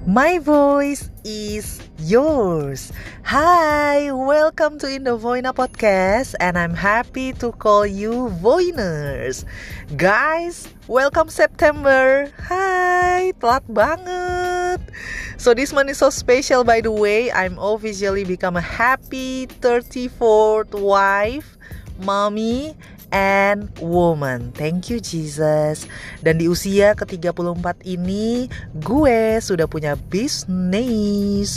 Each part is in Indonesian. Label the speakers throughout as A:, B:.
A: My voice is yours. Hi, welcome to Indovoina Podcast, and I'm happy to call you Voiners. Guys, welcome September. Hi, telat banget. So this month is so special, by the way. I'm officially become a happy 34th wife, mommy, and woman. Thank you Jesus. Dan di usia ke-34 ini gue sudah punya bisnis.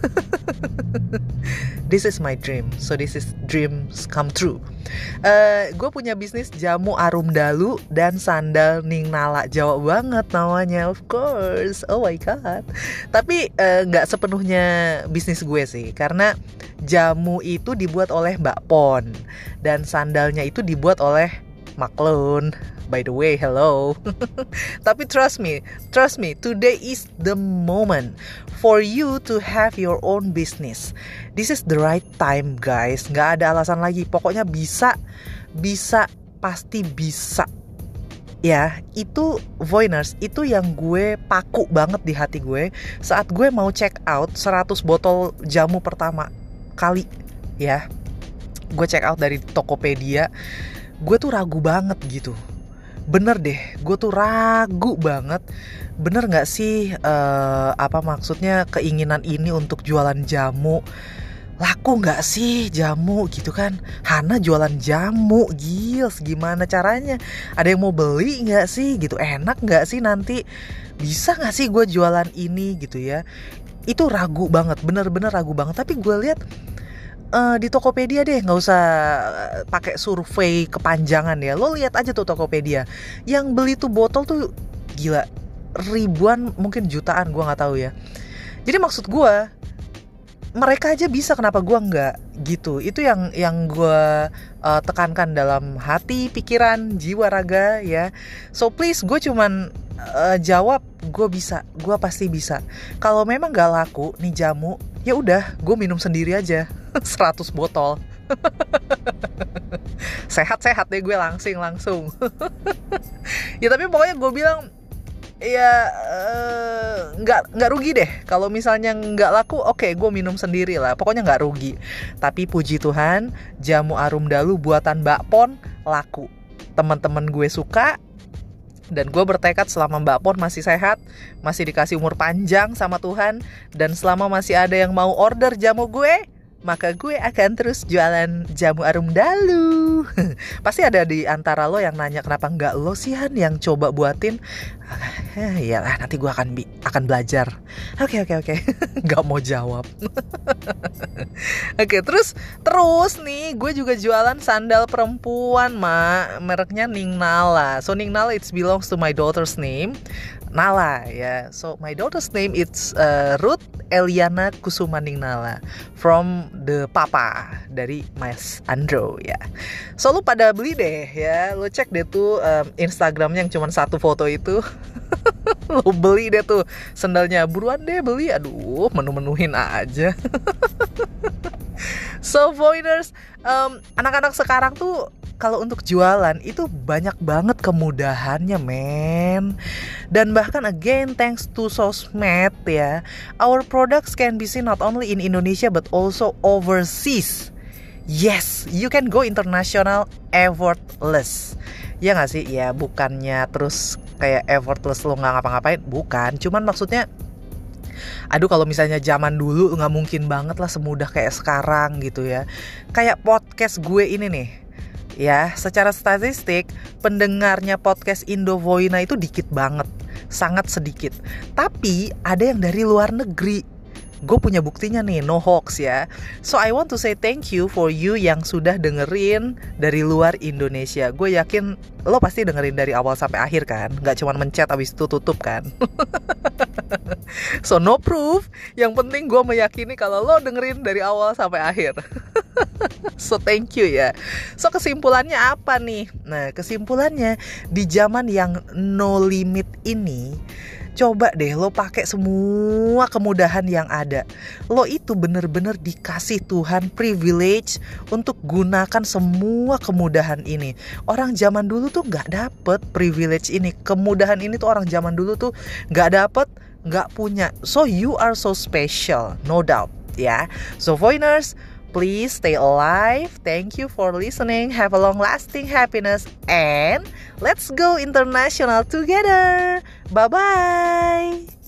A: This is my dream. So this is dreams come true. Gue punya bisnis jamu arum dalu dan sandal Ning Nala. Jawa banget namanya, of course. Oh my god. Tapi gak sepenuhnya bisnis gue sih, karena jamu itu dibuat oleh Mbak Pon dan sandalnya itu dibuat oleh Maklun. By the way, hello. Tapi trust me, today is the moment for you to have your own business. This is the right time, guys. Gak ada alasan lagi. Pokoknya bisa, pasti bisa. Ya, itu Voiners, itu yang gue paku banget di hati gue saat gue mau check out 100 botol jamu pertama kali. Ya, gue check out dari Tokopedia. Gue tuh ragu banget gitu. Bener deh, gue tuh ragu banget. Bener gak sih apa maksudnya keinginan ini untuk jualan jamu? Laku gak sih jamu gitu kan? Hana jualan jamu, gils, gimana caranya? Ada yang mau beli gak sih gitu? Enak gak sih nanti? Bisa gak sih gue jualan ini gitu ya? Itu ragu banget, bener-bener ragu banget. Tapi gue lihat di Tokopedia deh, nggak usah pakai survei kepanjangan ya. Lo lihat aja tuh Tokopedia, yang beli tuh botol tuh gila ribuan, mungkin jutaan, gue nggak tahu ya. Jadi maksud gue, mereka aja bisa, kenapa gue nggak gitu? Itu yang gue tekankan dalam hati, pikiran, jiwa, raga ya. So please, gue cuman jawab, gue bisa, gue pasti bisa. Kalau memang nggak laku nih jamu, ya udah, gue minum sendiri aja 100 botol. Sehat-sehat deh gue langsung. Ya tapi pokoknya gue bilang ya nggak rugi deh kalau misalnya nggak laku. Oke, gue minum sendiri lah, pokoknya nggak rugi. Tapi puji Tuhan, jamu arum dalu buatan Mbak Pon laku. Teman-teman gue suka. Dan gue bertekad selama Mbak Pon masih sehat, masih dikasih umur panjang sama Tuhan, dan selama masih ada yang mau order jamu gue, maka gue akan terus jualan jamu arum dalu. Pasti ada di antara lo yang nanya, kenapa nggak lo sih Han yang coba buatin? Iyalah, nanti gue akan belajar. Oke. Nggak mau jawab. Oke, terus nih gue juga jualan sandal perempuan, mereknya Ning Nala. So Ning Nala it belongs to my daughter's name, Nala ya. So my daughter's name it's Ruth Eliana Kusuma Ning Nala, from the papa dari Mas Andro ya. So lu pada beli deh ya, lu cek deh tuh Instagramnya yang cuma satu foto itu. Lu beli deh tuh sandalnya, buruan deh beli. Aduh, menu-menuhin aja. So Voiners, anak-anak sekarang tuh kalau untuk jualan itu banyak banget kemudahannya, men. Dan bahkan again, thanks to sosmed ya, our products can be seen not only in Indonesia but also overseas. Yes, you can go international effortless. Ya gak sih? Ya bukannya terus kayak effortless lo gak ngapa-ngapain, bukan. Cuman maksudnya, aduh kalau misalnya zaman dulu gak mungkin banget lah semudah kayak sekarang gitu ya. Kayak podcast gue ini nih ya, secara statistik pendengarnya podcast Indovoina itu dikit banget, sangat sedikit. Tapi ada yang dari luar negeri. Gue punya buktinya nih, no hoax ya. So I want to say thank you for you yang sudah dengerin dari luar Indonesia. Gue yakin lo pasti dengerin dari awal sampai akhir kan, gak cuma mencet abis itu tutup kan. So no proof, yang penting gue meyakini kalau lo dengerin dari awal sampai akhir. So thank you ya. So kesimpulannya apa nih? Nah kesimpulannya, di zaman yang no limit ini, coba deh lo pakai semua kemudahan yang ada. Lo itu bener-bener dikasih Tuhan privilege untuk gunakan semua kemudahan ini. Orang zaman dulu tuh gak dapet privilege ini. Kemudahan ini tuh orang zaman dulu tuh gak dapet, nggak punya. So you are so special, no doubt ya. So Voiners, please stay alive. Thank you for listening. Have a long-lasting happiness and let's go international together. Bye-bye.